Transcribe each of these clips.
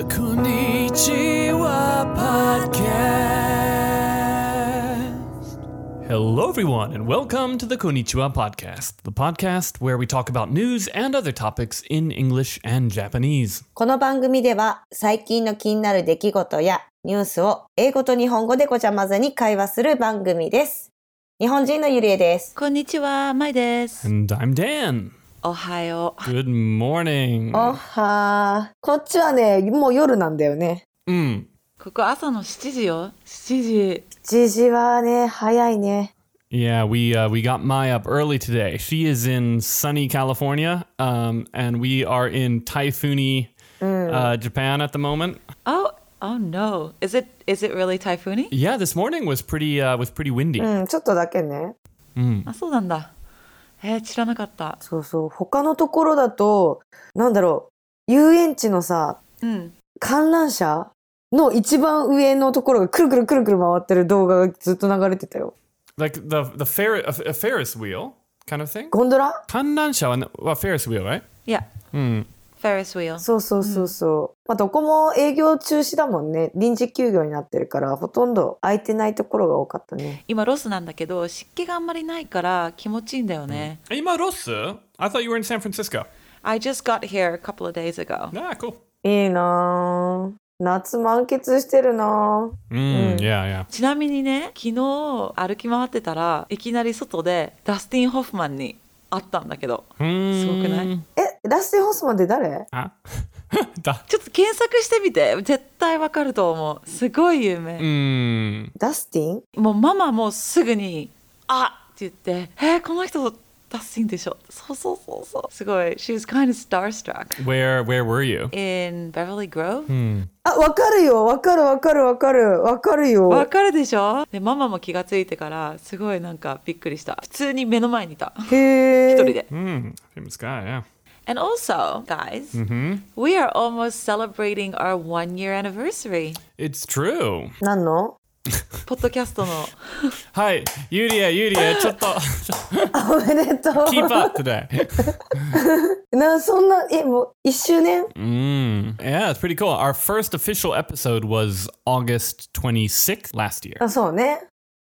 Konnichiwa Podcast. Hello, everyone, and welcome to the Konnichiwa Podcast, the podcast where we talk about news and other topics in English and Japanese. この番組では最近の気になる出来事やニュースを英語と日本語でごちゃ混ぜに会話する番組です。日本人のゆりえです。 こんにちは、まいです。 And I'm Dan. おはよう。 Good morning. おはー。こっちはね、もう夜なんだよね。 ここ朝の7時よ。7時。 7時はね、早いね。 Yeah, we got Mai up early today. She is in sunny California, and we are in typhoony Japan at the moment. Oh no. Is it really typhoony? Yeah, this morning was pretty windy. ちょっとだけね。 あ、そうなんだ。知らなかった。 そうそう。他のところだと、なんだろう、遊園地のさ、観覧車の一番上のところがくるくるくるくる回ってる動画がずっと流れてたよ。 Like the Ferris wheel kind of thing? ゴンドラ？ 観覧車はFerris wheel, right? Yeah. Ferris wheel. そうそうそうそう。まあ、どこも営業中止だもんね。臨時休業になってるからほとんど空いてないところが多かったね。 今ロスなんだけど湿気があんまりないから気持ちいいんだよね。 今ロス? I thought you were in San Francisco. I just got here a couple of days ago. Ah, cool. いいなぁ。夏満喫してるなぁ。 Yeah. ちなみにね、昨日歩き回ってたらいきなり外でダスティン・ホフマンに会ったんだけど、すごくない？ ダスティン・ホフマンって誰？ ちょっと検索してみて。絶対わかると思う。すごい有名。 ダスティン？ もうママもすぐにあって言ってこの人ダスティンでしょ。そうすごい She was kind of starstruck. Where were you? In Beverly Grove? あ、わかるよ。わかるよ。 わかるでしょ。でママも気がついてからすごいなんかびっくりした。普通に目の前にいた。 へー。 一人で。 Famous guy, yeah. And also, guys, we are almost celebrating our 1-year anniversary. It's true. 何の？ ポッドキャストの。 はい、ユリア、ちょっとおめでとう。 Keep up today. そんな、もう1周年？ Yeah, it's pretty cool. Our first official episode was August 26th last year. あ、そうね。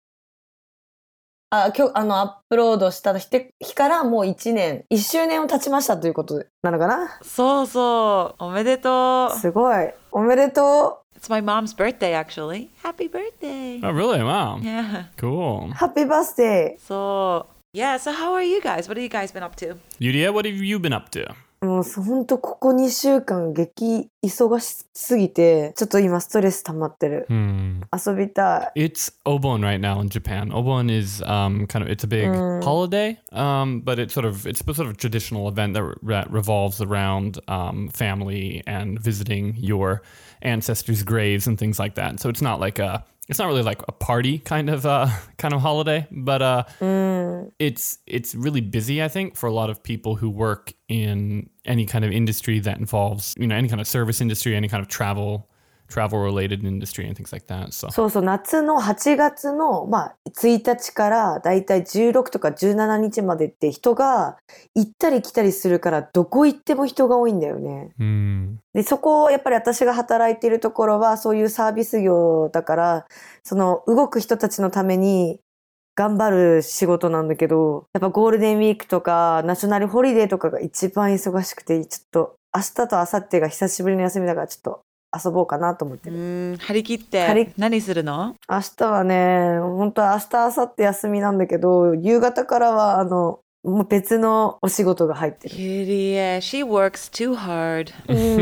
今日アップロードした日からもう1周年を経ちましたということなのかな。 そうおめでとう。 すごいおめでとう。 It's my mom's birthday actually. Happy birthday. Oh, really? Wow. Yeah. Cool. Happy birthday. So how are you guys? What have you guys been up to? Yuria, what have you been up to? もうほんとここ2週間激忙しすぎてちょっと今ストレス溜まってる。遊びたい。 It's Obon right now in Japan. Obon is it's a big holiday, but it's sort of a traditional event that revolves around family and visiting your ancestors' graves and things like that. So it's not really like a party kind of holiday, but it's really busy, I think, for a lot of people who work in any kind of industry that involves, any kind of service industry, any kind of travel related industry and things like that. So. そう夏の8月の1日からだいたい16とか17日までって人が行ったり来たりするからどこ行っても人が多いんだよね。でそこやっぱり私が働いているところはそういうサービス業だからその動く人たちのために頑張る仕事なんだけどやっぱゴールデンウィークとかナショナルホリデーとかが一番忙しくてちょっと明日と明後日が久しぶりの休みだからちょっと遊ぼうかなと思ってる。 張り切って何するの？ 明日はね本当は明日明後日休みなんだけど夕方からはもう別のお仕事が入ってる。 Yeah, she works too hard.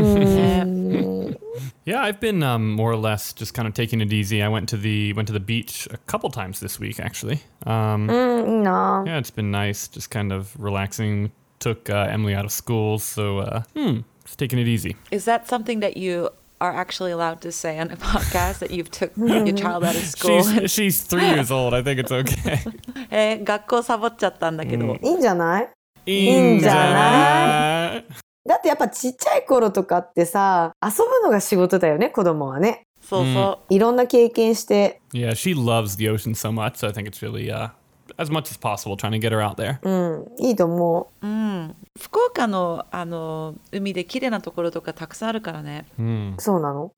Yeah, I've been more or less just kind of taking it easy. I went to the beach a couple times this week, actually. いいな。 Yeah, it's been nice, just kind of relaxing. Took Emily out of school, so just taking it easy. Is that something that you are actually allowed to say on a podcast that you've took your child out of school? She's 3 years old. I think it's okay. 学校サボっちゃったんだけど。 いいんじゃない？ いいんじゃない？ だってやっぱちっちゃい頃とかってさ遊ぶのが仕事だよね子供はね。 そういろんな経験して。 Yeah, she loves the ocean so much, so I think it's really as much as possible, trying to get her out there. いいと思う。福岡の海で綺麗なところとかたくさんあるからね。 そうなの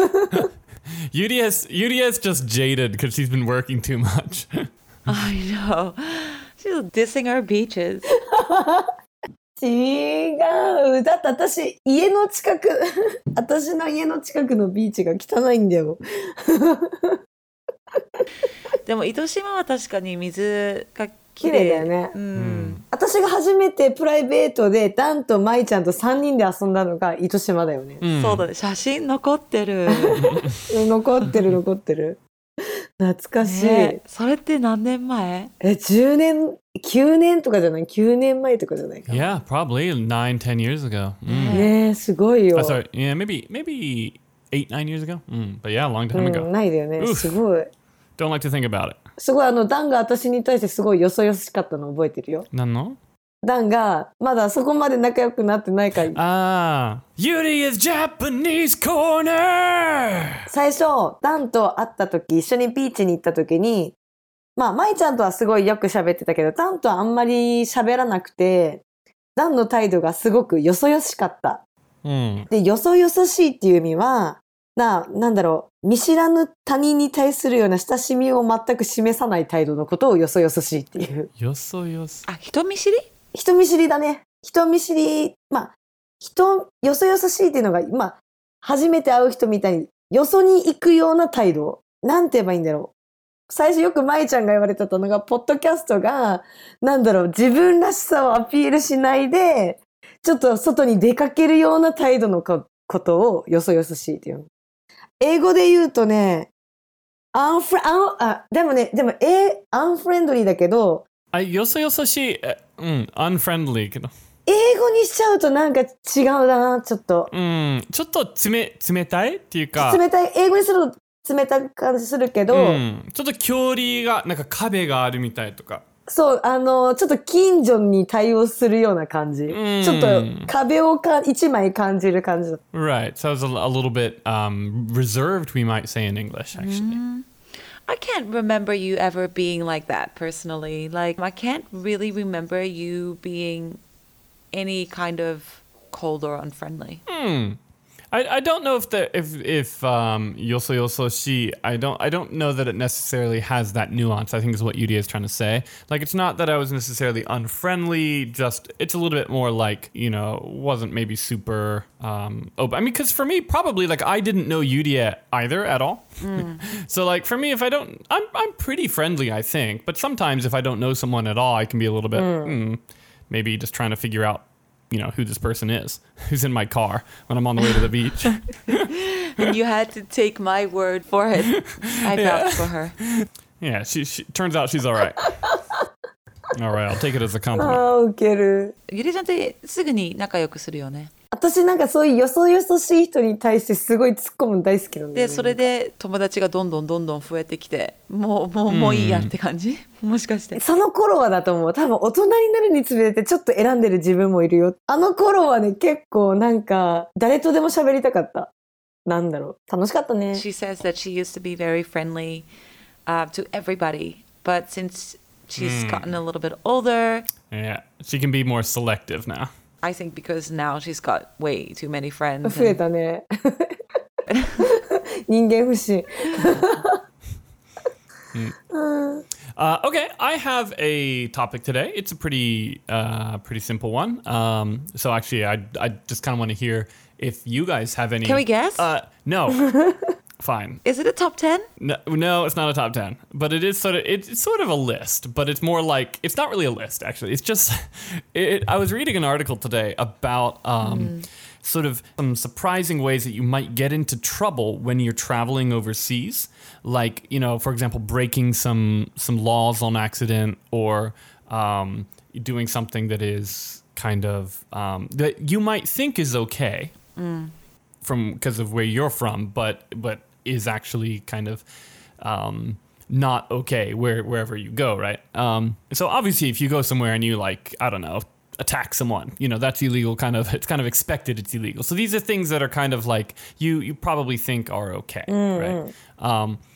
Yuria is just jaded because she's been working too much. I know. She's dissing our beaches. 違う。だって私の家の近くのビーチが汚いんだよ。 でも糸島は確かに水が綺麗だよね。私が初めてプライベートでダンとマイちゃんと3人で遊んだのが糸島だよね。 そうだね。写真残ってる。 残ってる。懐かしい。 それって何年前 ？10年、9年とかじゃない ?9 年前とかじゃないかな。 Yeah, probably 9, 10 years ago. ねえ、すごいよ。 Sorry, yeah, maybe 8, 9 years ago. But yeah, a long time ago. ないだよね。すごい。 Don't like to think about it. すごいダンが私に対してすごいよそよそしかったの覚えてるよ。 何の？ ダンがまだそこまで仲良くなってないから。 Yuri's Japanese Corner! 最初、ダンと会った時、一緒にビーチに行った時に、まあ、マイちゃんとはすごいよく喋ってたけど、ダンとはあんまり喋らなくて、ダンの態度がすごくよそよしかった。で、よそよそしいっていう意味は、なんだろう、見知らぬ他人に対するような親しみを全く示さない態度のことをよそよそしいっていう。 よそよそ。 人見知り？ 人見知りだね。人見知り、よそよそしいっていうのが、初めて会う人みたいに、よそに行くような態度。なんて言えばいいんだろう。最初よく舞ちゃんが言われてたのが、ポッドキャストが、自分らしさをアピールしないで、ちょっと外に出かけるような態度のことをよそよそしいっていうの。英語で言うとね、でも、アンフレンドリーだけど、 よそよそしい、unfriendly けど。 英語にしちゃうとなんか違うな、ちょっと。 ちょっと冷たいっていうか。 冷たい。英語にすると冷たい感じするけど、 ちょっと距離が、なんか壁があるみたいとか。 そう、ちょっと近所に対応するような感じ。ちょっと壁を一枚感じる感じ。 Right. So it's a little bit reserved, we might say in English, actually. I can't remember you ever being like that personally. Like, I can't really remember you being any kind of cold or unfriendly. I don't know if yoso yoso shi, I don't know that it necessarily has that nuance, I think is what Yuri is trying to say. Like, it's not that I was necessarily unfriendly, just it's a little bit more like, wasn't maybe super open. I mean, because for me, probably, like, I didn't know Yuri either at all. So, like, for me, if I don't, I'm pretty friendly, I think. But sometimes if I don't know someone at all, I can be a little bit, maybe just trying to figure out, who this person is, who's in my car when I'm on the way to the beach. And you had to take my word for it. I vouched for her. Yeah, she turns out she's all right. All right, I'll take it as a compliment. ウケる。 ゆりちゃんってすぐに仲良くするよね。 私なんかそういうよそよそしい人に対してすごい突っ込むの大好きなんだよね。 で、それで友達がどんどん増えてきて、もういいやって感じ？もしかして。 その頃はだと思う。多分大人になるにつれてちょっと選んでる自分もいるよ。あの頃はね、結構なんか誰とでも喋りたかった。なんだろう。楽しかったね。 She says that she used to be very friendly to everybody, but since she's gotten a little bit older, yeah, she can be more selective now. I think because now she's got way too many friends. 増えたね。人間不信。 Okay, I have a topic today. It's a pretty simple one. So actually, I just kind of want to hear if you guys have any. Can we guess? No. Fine. Is it a top 10? No, it's not a top 10. But it is it's sort of a list, but it's more like, it's not really a list, actually. It's just, I was reading an article today about sort of some surprising ways that you might get into trouble when you're traveling overseas. Like, for example, breaking some laws on accident, or doing something that is kind of, that you might think is okay. Because of where you're from, but is actually kind of not okay wherever you go, right? So obviously, if you go somewhere and you, like, I don't know, attack someone, that's illegal. It's kind of expected it's illegal. So these are things that are kind of like you probably think are okay, right?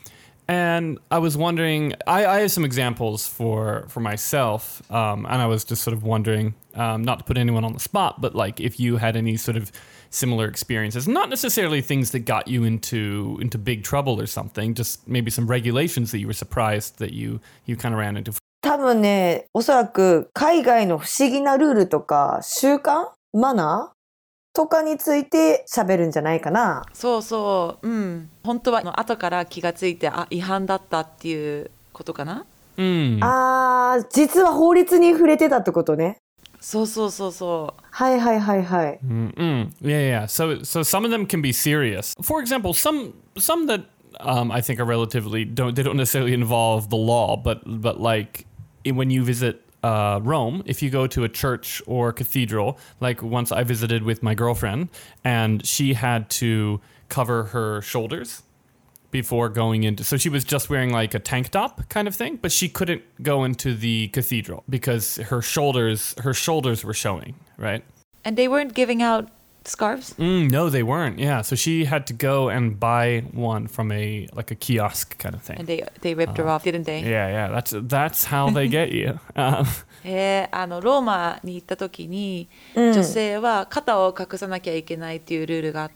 And I was wondering, I have some examples for myself, and I was just sort of wondering, not to put anyone on the spot, but like if you had any sort of similar experiences, not necessarily things that got you into big trouble or something, just maybe some regulations that you were surprised that you kind of ran into. 多分ね、おそらく海外の不思議なルールとか習慣、マナーとかについて喋るんじゃないかな。 そうそう、うん。本当は後から気がついて、違反だったっていうことかな。 実は法律に触れてたってことね。 そうそうそうそう。 はいはいはいはい。 Yeah. So some of them can be serious. For example, some that I think are relatively they don't necessarily involve the law, but like when you visit Rome, if you go to a church or cathedral, like once I visited with my girlfriend, and she had to cover her shoulders before going into, so she was just wearing like a tank top kind of thing, but she couldn't go into the cathedral because her shoulders were showing, right? And they weren't giving out scarves? No, they weren't. Yeah, so she had to go and buy one from a kiosk kind of thing. And they ripped her off, didn't they? Yeah. That's how they get you. ローマに行った時に、女性は肩を隠さなきゃいけないっていうルールがあって、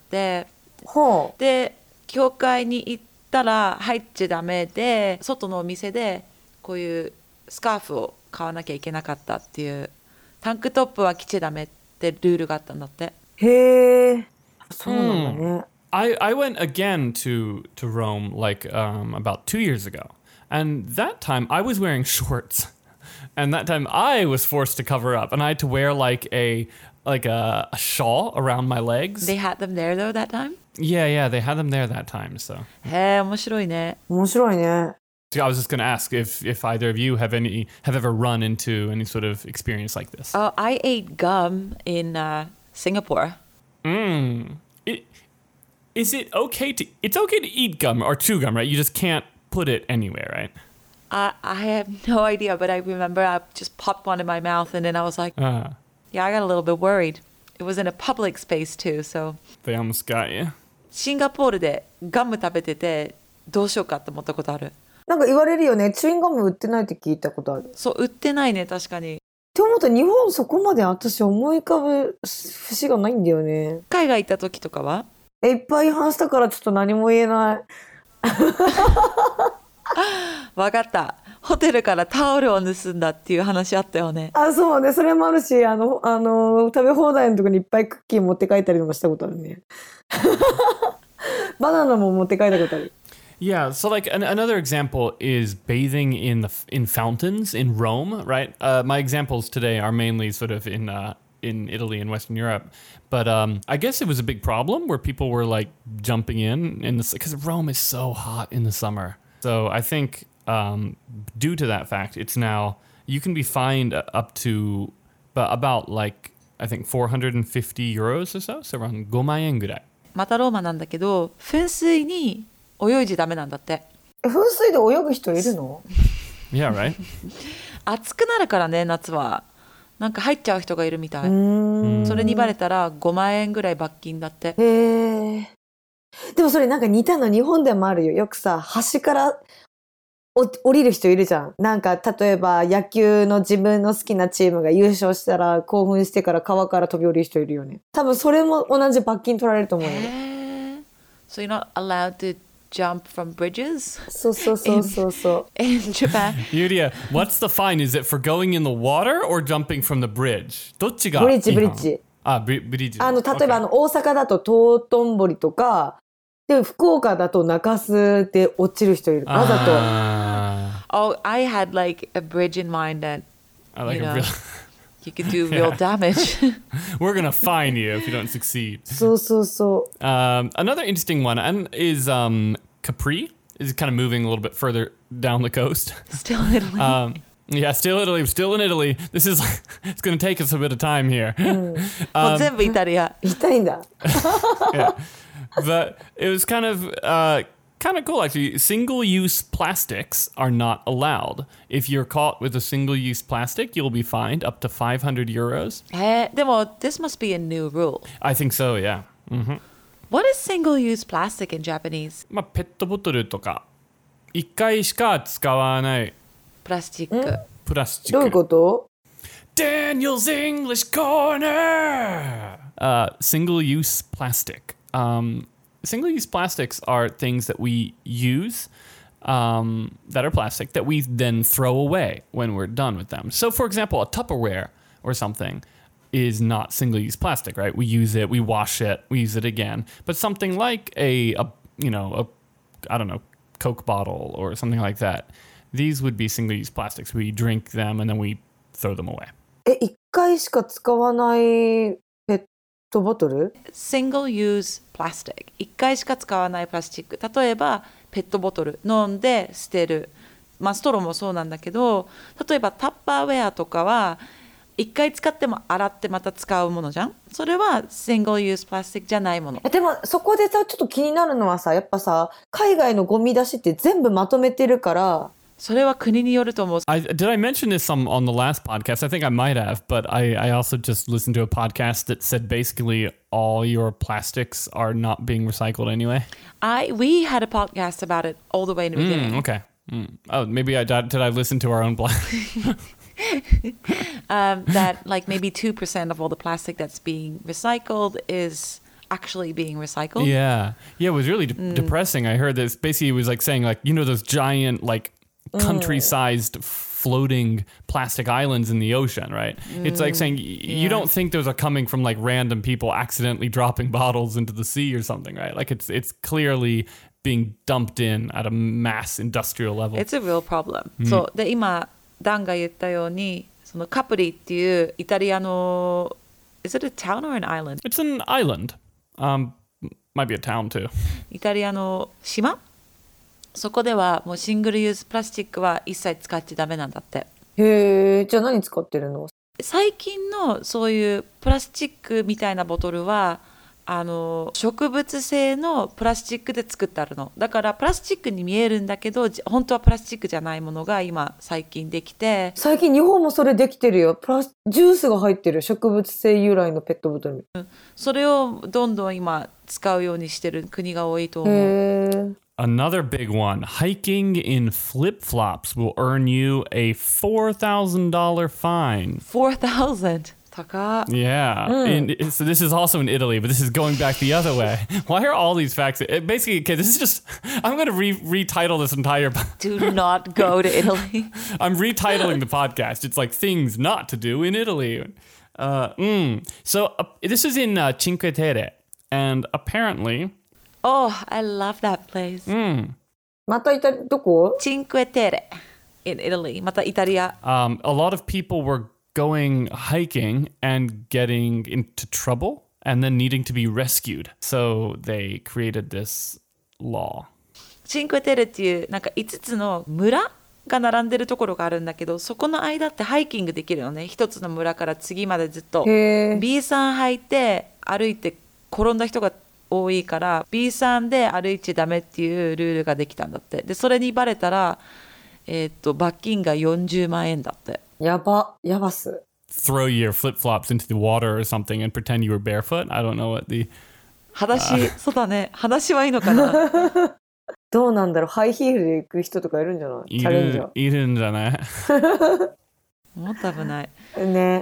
で教会に行ったら入っちゃダメで、外のお店でこういうスカーフを買わなきゃいけなかったっていう、タンクトップは着ちゃダメってルールがあったんだって。 へえ、そうなんだね。 I went again to Rome like about 2 years ago, and that time I was wearing shorts, and that time I was forced to cover up, and I had to wear like a shawl around my legs. They had them there though that time? Yeah, they had them there that time. So. へえ、面白いね。 面白いね。 I was just going to ask if either of you have ever run into any sort of experience like this. Oh, I ate gum in Singapore. Is it okay to? It's okay to eat gum or chew gum, right? You just can't put it anywhere, right? I have no idea, but I remember I just popped one in my mouth, and then I was like, yeah, I got a little bit worried. It was in a public space too, so. They almost got you. シンガポールでガム食べててどうしようかって思ったことある。 なんか言われるよね。チューインガム売ってないって聞いたことある。 そう、売ってないね、確かに。 って思うと日本そこまで私思い浮かぶ節がないんだよね。 海外行った時とかはいっぱい違反したからちょっと何も言えない。 わかった。ホテルからタオルを盗んだっていう話あったよね。 そうね。それもあるし、食べ放題のとこにいっぱいクッキー持って帰ったりとかしたことあるね。バナナも持って帰ったことある。 Yeah, so like another example is bathing in fountains in Rome, right? My examples today are mainly sort of in Italy and Western Europe, but I guess it was a big problem where people were like jumping in this because Rome is so hot in the summer. So I think due to that fact, it's now you can be fined up to about like I think 450 euros or so around 5万円ぐらい。 またローマなんだけど、噴水に泳いじゃダメなんだって。 噴水で泳ぐ人いるの？ Yeah, right. 暑くなるからね、夏は。なんか入っちゃう人がいるみたい。それにバレたら5万円ぐらい罰金だって。 へえ。でもそれなんか似たの日本でもあるよ。よくさ、橋から降りる人いるじゃん。なんか例えば野球の自分の好きなチームが優勝したら興奮してから川から飛び降りる人いるよね。多分それも同じ罰金取られると思うよ。 So you're not allowed to jump from bridges? そう。 In Japan. Yuria, what's the fine? Is it for going in the water or jumping from the bridge? どっちが？ ブリッジ。 ブリッジ。例えば大阪だと道頓堀とか、で福岡だと中洲で落ちる人いる。わざと。 Oh, I had like a bridge in mind that you could do real damage. We're gonna fine you if you don't succeed. そう。 Another interesting one is Capri. Is kind of moving a little bit further down the coast. Still in Italy. Yeah, still Italy. We're still in Italy. This is it's going to take us a bit of time here. もう全部イタリア。 痛いんだ。 Yeah, but it was kind of cool actually. Single-use plastics are not allowed. If you're caught with a single-use plastic, you'll be fined up to 500 euros. でも this must be a new rule. I think so. Yeah. Mm-hmm. What is single-use plastic in Japanese? ペットボトルとか一回しか使わないプラスチック。 プラスチック。 どういうこと？ Daniel's English Corner! Single-use plastic. Single-use plastics are things that we use that are plastic that we then throw away when we're done with them. So, for example, a Tupperware or something is not single-use plastic, right? We use it, we wash it, we use it again. But something like a I don't know, Coke bottle or something like that, these would be single-use plastics. We drink them and then we throw them away. 一回しか使わないペットボトル？ Single-use plastic。一回しか使わないプラスチック。例えば、ペットボトル飲んで捨てる。まあ、ストローもそうなんだけど、例えばタッパーウェアとかは、一回使っても洗ってまた使うものじゃん。それは single-use plastic じゃないもの。 でもそこでさ、ちょっと気になるのはさ、やっぱさ、海外のゴミ出しって全部まとめてるから、 それは国によると思う。 Did I mention this on the last podcast? I think I might have, but I also just listened to a podcast that said basically all your plastics are not being recycled anyway. We had a podcast about it all the way in the beginning. Okay. Oh, maybe did I listen to our own that like maybe 2% of all the plastic that's being recycled is actually being recycled. Yeah, it was really depressing. I heard this. Basically, it was like saying like, you know, those giant like country-sized floating plastic islands in the ocean, right? It's like saying you don't think those are coming from like random people accidentally dropping bottles into the sea or something, right? Like it's clearly being dumped in at a mass industrial level. It's a real problem. そうで今ダンが言ったようにそのカプリっていうイタリアの Is it a town or an island? It's an island. Might be a town too. イタリアの島そこではもうシングルユースプラスチックは一切使っちゃダメなんだって。 へえ、じゃあ何使ってるの？ 最近のそういうプラスチックみたいなボトルは植物性のプラスチックで作ってあるの。だからプラスチックに見えるんだけど本当はプラスチックじゃないものが今最近できて。 最近日本もそれできてるよ。ジュースが入ってる植物性由来のペットボトル。 それをどんどん今使うようにしてる国が多いと思う。 へー。 Another big one, hiking in flip-flops will earn you a $4,000 fine. 4,000? 高っ。 Yeah. So this is also in Italy, but this is going back the other way. Why are all these facts? Basically, okay, this is just... I'm going to retitle this entire... Do not go to Italy. I'm retitling the podcast. It's like things not to do in Italy. So this is in Cinque Terre, and apparently... Oh, I love that place. またどこ？ Cinque Terre in Italy. またイタリア。 A lot of people were going hiking and getting into trouble and then needing to be rescued. So they created this law. Cinque Terre っていうなんか5つの村が並んでるところがあるんだけど、そこの間ってハイキングできるのね。一つの村から次までずっと。B さん履いて歩いて転んだ人が多いから B さんで歩いちゃダメっていうルールができたんだって。でそれにバレたら罰金が40万円だって。 やばっす。 Throw your flip-flops into the water or something and pretend you were barefoot. I don't know what the... 裸足、そうだね。裸足はいいのかな。 どうなんだろう。ハイヒールで行く人とかいるんじゃない？チャレンジャー。 いるんじゃない？ もっと危ない。 ね。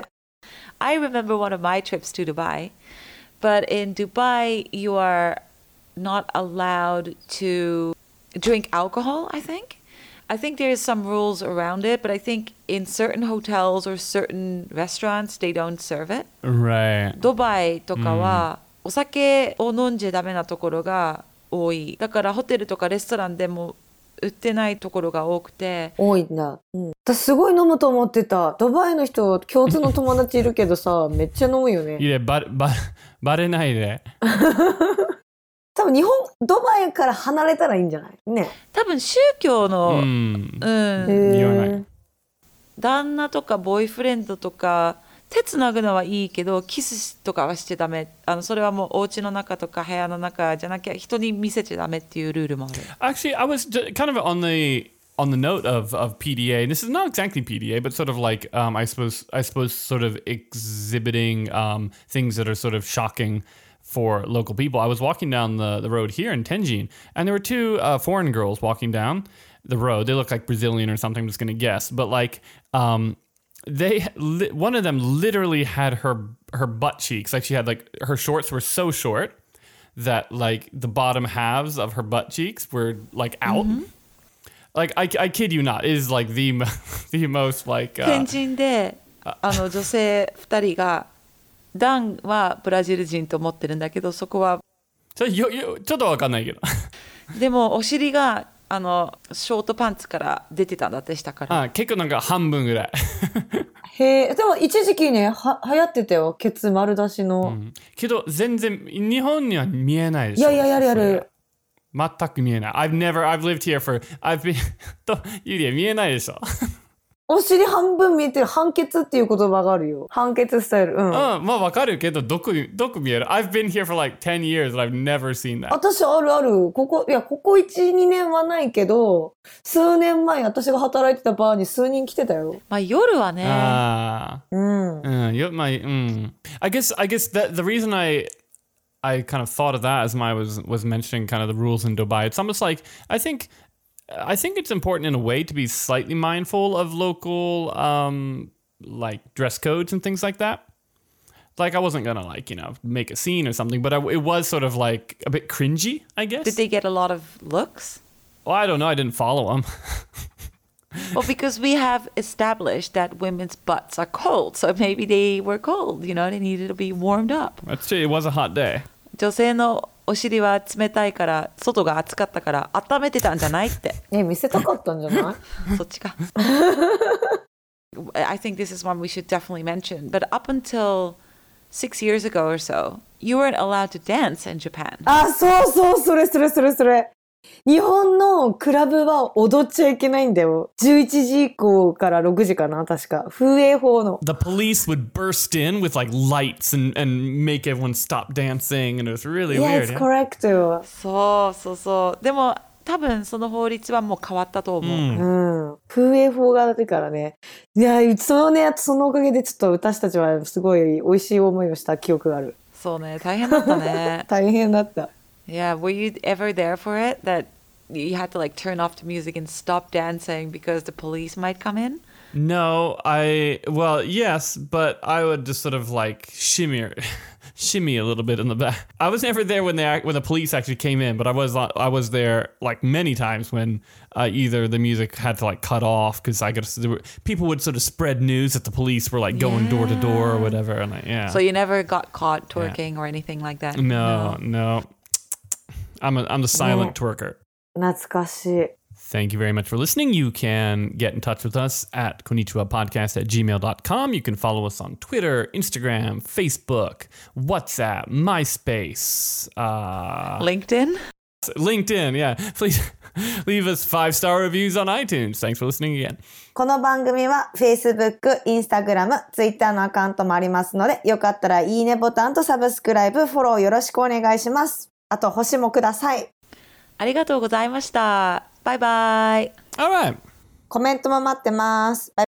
I remember one of my trips to Dubai, but in Dubai you are not allowed to drink alcohol, I think. I think there's some rules around it, but I think in certain hotels or certain restaurants, they don't serve it. Right. ドバイとかはお酒を飲んじゃダメなところが多い。だからホテルとかレストランでも売ってないところが多くて。 多いんだ。私すごい飲むと思ってた。ドバイの人、共通の友達いるけどさ、めっちゃ飲むよね。 いや、バレないで。 多分ドバイから離れたらいいんじゃないね。 多分宗教の、 言わない。 旦那とかボーイフレンドとか手つなぐのはいいけどキスとかはしちゃダメ。それはもうお家の中とか部屋の中じゃなきゃ人に見せちゃダメっていうルールもある。 Actually, I was kind of on the note of PDA. This is not exactly PDA, but sort of like I suppose sort of exhibiting things that are sort of shocking for local people. I was walking down the road here in Tenjin, and there were two foreign girls walking down, the road. They look like Brazilian or something. I'm just gonna guess, but like one of them literally had her butt cheeks. Like she had like her shorts were so short that like the bottom halves of her butt cheeks were like out. Like I kid you not, it is like the most like 天神で女性2人がダンはブラジル人と思ってるんだけど、そこはちょっとわかんないけどでもお尻がショートパンツから出てたんだって下から。 結構なんか半分ぐらいへえ、でも一時期ね、流行ってたよ、ケツ丸出しの。 けど全然日本には見えないでしょ。 いや、やる。 全く見えない。I've lived here I've been とユリア見えないでしょ。 お尻半分見えてる、半ケツっていう言葉があるよ。半ケツスタイル。 まあわかるけどどこ見える？ I've been here for like 10 years and I've never seen that. 私ある。ここ1、2年はないけど、数年前私が働いてたバーに数人来てたよ。 まあ夜はね。 I guess that the reason I kind of thought of that as I was mentioning kind of the rules in Dubai. It's almost like I think it's important in a way to be slightly mindful of local like dress codes and things like that. Like I wasn't gonna like make a scene or something, but it was sort of like a bit cringy, I guess. Did they get a lot of looks? Well, I don't know. I didn't follow them. Well, because we have established that women's butts are cold, so maybe they were cold. They needed to be warmed up. That's true. It was a hot day. 女性のお尻は冷たいから外が暑かったから温めてたんじゃないって。 見せたかったんじゃない？ そっちか。I think this is one we should definitely mention. But up until 6 years ago or so, you weren't allowed to dance in Japan. そう、それ。日本のクラブは踊っちゃいけないんだよ。11時以降から6時かな、確か。風営法の。 The police would burst in with like lights and make everyone stop dancing and it was really weird. Yes, correct. そう。でも多分その法律はもう変わったと思う。 風営法があるからね。いや、そのおかげでちょっと私たちはすごい美味しい思いをした記憶がある。 そうね、大変だったね。 大変だった。 Yeah, were you ever there for it? That you had to like turn off the music and stop dancing because the police might come in? No, yes, but I would just sort of like shimmy a little bit in the back. I was never there when the police actually came in, but I was there like many times when either the music had to like cut off because people would sort of spread news that the police were like going door to door or whatever, and So you never got caught twerking or anything like that? No. I'm the silent twerker. 懐かしい。 Thank you very much for listening. You can get in touch with us at konnichiwapodcast@gmail.com. You can follow us on Twitter, Instagram, Facebook, WhatsApp, MySpace, LinkedIn, yeah. Please leave us 5-star reviews on iTunes. Thanks for listening again. この番組は Facebook、Instagram、Twitter のアカウントもありますので、よかったらいいねボタンとサブスクライブ、フォローよろしくお願いします。あと星もください。 ありがとうございました。バイバイ。 All right. コメントも待ってます。